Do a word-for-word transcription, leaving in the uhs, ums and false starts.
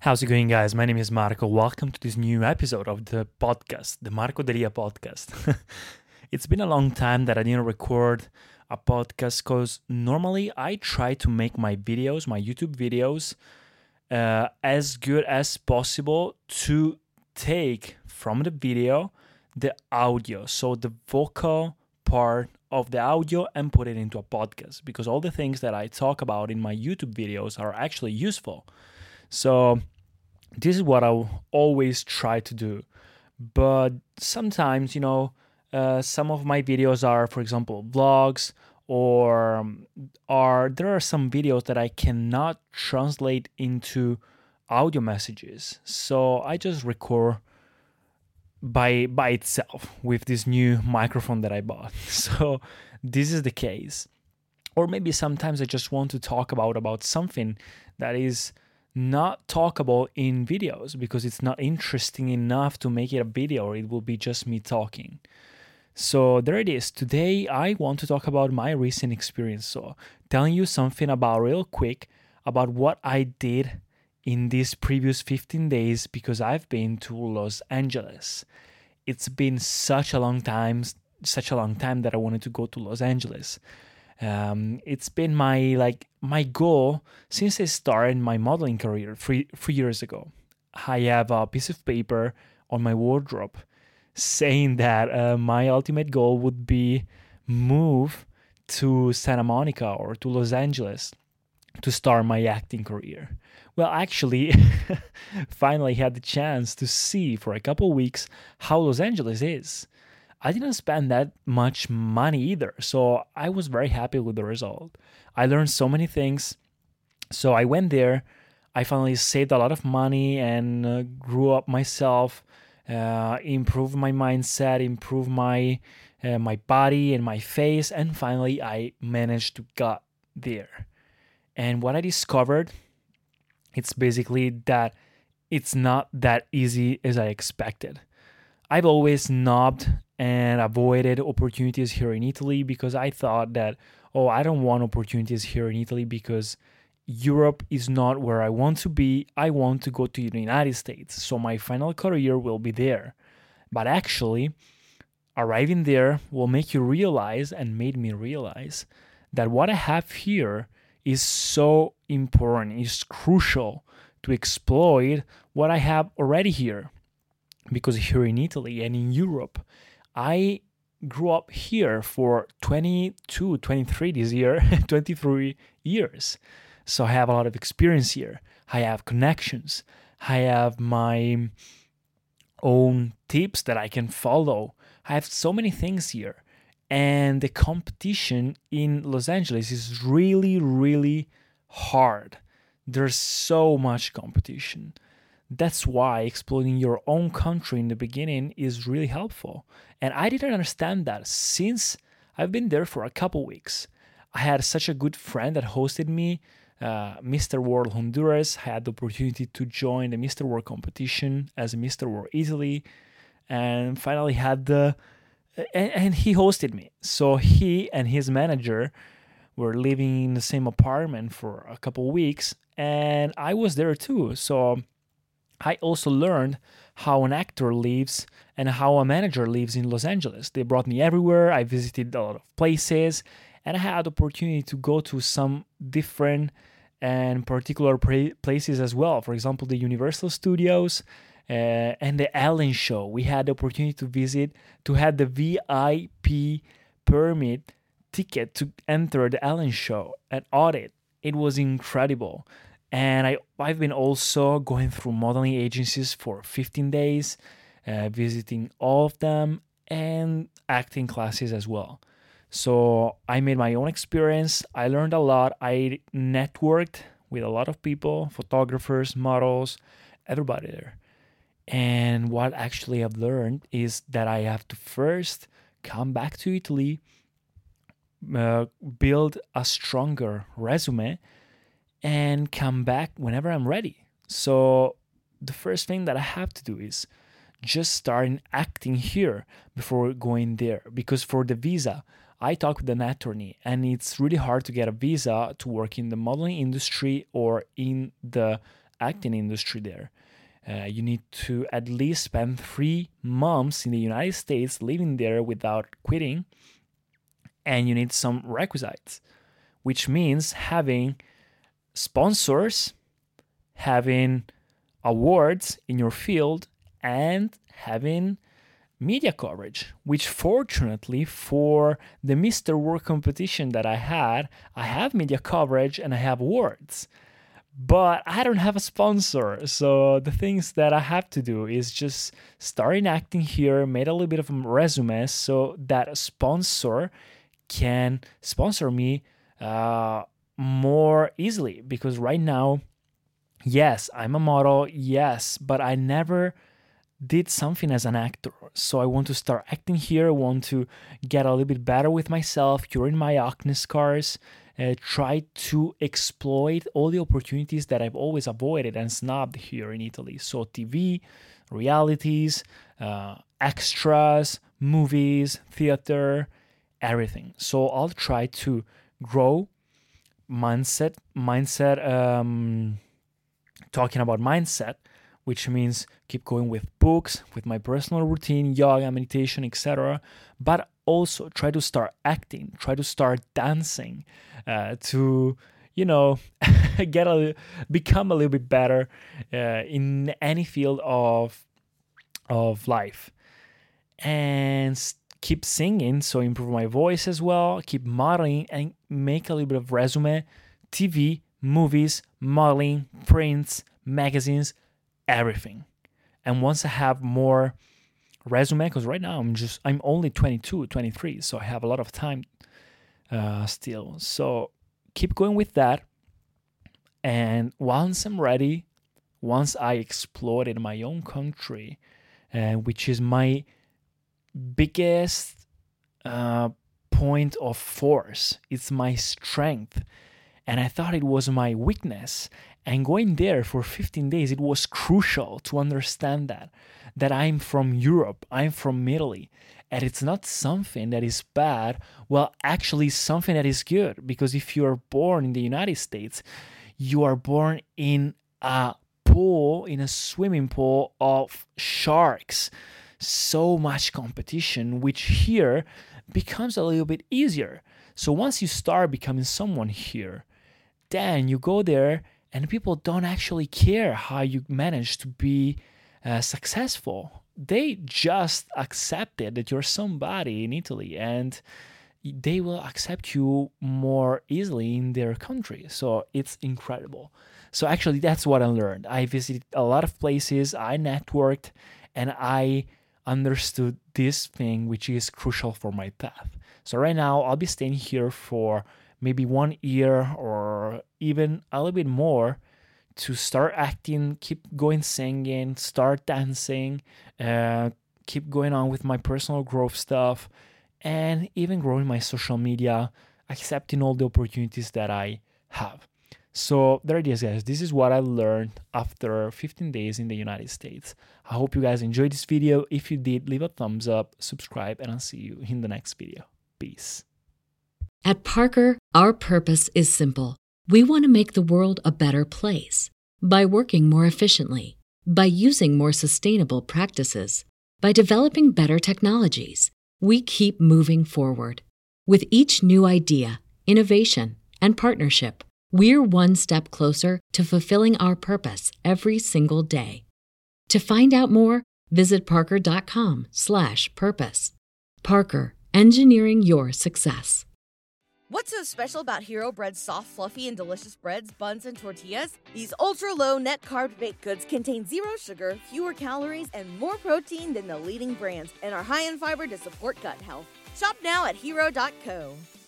How's it going, guys? My name is Marco. Welcome to this new episode of the podcast, the Marco Delia podcast. It's been a long time that I didn't record a podcast because normally I try to make my videos, my YouTube videos, uh, as good as possible to take from the video the audio, so the vocal part of the audio, and put it into a podcast because all the things that I talk about in my YouTube videos are actually useful. So this is what I always try to do. But sometimes, you know, uh, some of my videos are, for example, vlogs, or um, are there are some videos that I cannot translate into audio messages. So I just record by by itself with this new microphone that I bought. So this is the case. Or maybe sometimes I just want to talk about about something that is not talkable in videos because it's not interesting enough to make it a video, or it will be just me talking. So there it is. Today I want to talk about my recent experience. So telling you something about real quick about what I did in these previous fifteen days because I've been to Los Angeles. It's been such a long time, such a long time that I wanted to go to Los Angeles. Um, it's been my like my goal since I started my modeling career three three years ago. I have a piece of paper on my wardrobe saying that uh, my ultimate goal would be move to Santa Monica or to Los Angeles to start my acting career. Well, actually, finally had the chance to see for a couple weeks how Los Angeles is. I didn't spend that much money either, so I was very happy with the result. I learned so many things. So I went there. I finally saved a lot of money and uh, grew up myself, uh, improved my mindset, improved my uh, my body and my face, and finally I managed to get there. And what I discovered, it's basically that it's not that easy as I expected. I've always snobbed and avoided opportunities here in Italy because I thought that, oh, I don't want opportunities here in Italy because Europe is not where I want to be. I want to go to the United States. So my final career will be there. But actually, arriving there will make you realize, and made me realize, that what I have here is so important, is crucial to exploit what I have already here. Because here in Italy and in Europe, I grew up here for twenty-two, twenty-three this year, twenty-three years. So I have a lot of experience here. I have connections. I have my own tips that I can follow. I have so many things here. And the competition in Los Angeles is really, really hard. There's so much competition. That's why exploring your own country in the beginning is really helpful. And I didn't understand that since I've been there for a couple weeks. I had such a good friend that hosted me, uh, Mister World Honduras. I had the opportunity to join the Mister World competition as Mister World Italy, and finally had the and, and he hosted me. So he and his manager were living in the same apartment for a couple weeks, and I was there too. So I also learned how an actor lives and how a manager lives in Los Angeles. They brought me everywhere. I visited a lot of places, and I had the opportunity to go to some different and particular pra- places as well. For example, the Universal Studios uh, and the Ellen Show. We had the opportunity to visit, to have the V I P permit ticket to enter the Ellen Show and audit. It was incredible. And I, I've been also going through modeling agencies for fifteen days, uh, visiting all of them, and acting classes as well. So I made my own experience. I learned a lot. I networked with a lot of people, photographers, models, everybody there. And what actually I've learned is that I have to first come back to Italy, uh, build a stronger resume, and come back whenever I'm ready. So the first thing that I have to do is just starting acting here before going there. Because for the visa, I talked with an attorney, and it's really hard to get a visa to work in the modeling industry or in the acting industry there. Uh, you need to at least spend three months in the United States living there without quitting, and you need some requisites, which means having sponsors, having awards in your field, and having media coverage, which fortunately for the Mister World competition that I had, I have media coverage and I have awards, but I don't have a sponsor. So the things that I have to do is just starting acting here, made a little bit of a resume so that a sponsor can sponsor me uh, more easily, because right now, yes, I'm a model, yes, but I never did something as an actor. So I want to start acting here. I want to get a little bit better with myself, curing my acne scars, uh, try to exploit all the opportunities that I've always avoided and snubbed here in Italy. So T V, realities, uh, extras, movies, theater, everything. So I'll try to grow mindset, mindset, um, talking about mindset, which means keep going with books, with my personal routine, yoga, meditation, et cetera. But also try to start acting, try to start dancing, uh, to, you know, get a become a little bit better uh, in any field of of life, and keep singing, so improve my voice as well. Keep modeling and make a little bit of resume, T V, movies, modeling, prints, magazines, everything. And once I have more resume, because right now I'm just I'm only twenty-two, twenty-three, so I have a lot of time uh, still. So keep going with that. And once I'm ready, once I explode in my own country, uh, which is my biggest uh, point of force, it's my strength, and I thought it was my weakness. And going there for fifteen days, it was crucial to understand that, that I'm from Europe, I'm from Italy, and it's not something that is bad, well, actually something that is good, because if you are born in the United States, you are born in a pool, in a swimming pool of sharks, so much competition, which here becomes a little bit easier. So once you start becoming someone here, then you go there and people don't actually care how you manage to be uh, successful. They just accepted that you're somebody in Italy, and they will accept you more easily in their country. So it's incredible. So actually, that's what I learned. I visited a lot of places, I networked, and I understood this thing, which is crucial for my path. So right now, I'll be staying here for maybe one year or even a little bit more to start acting, keep going singing, start dancing, uh, keep going on with my personal growth stuff, and even growing my social media, accepting all the opportunities that I have. So there it is, guys. This is what I learned after fifteen days in the United States. I hope you guys enjoyed this video. If you did, leave a thumbs up, subscribe, and I'll see you in the next video. Peace. At Parker, our purpose is simple. We want to make the world a better place by working more efficiently, by using more sustainable practices, by developing better technologies. We keep moving forward. With each new idea, innovation, and partnership, we're one step closer to fulfilling our purpose every single day. To find out more, visit parker.com slash purpose. Parker, engineering your success. What's so special about Hero Bread's soft, fluffy, and delicious breads, buns, and tortillas? These ultra-low net-carb baked goods contain zero sugar, fewer calories, and more protein than the leading brands, and are high in fiber to support gut health. Shop now at hero dot co.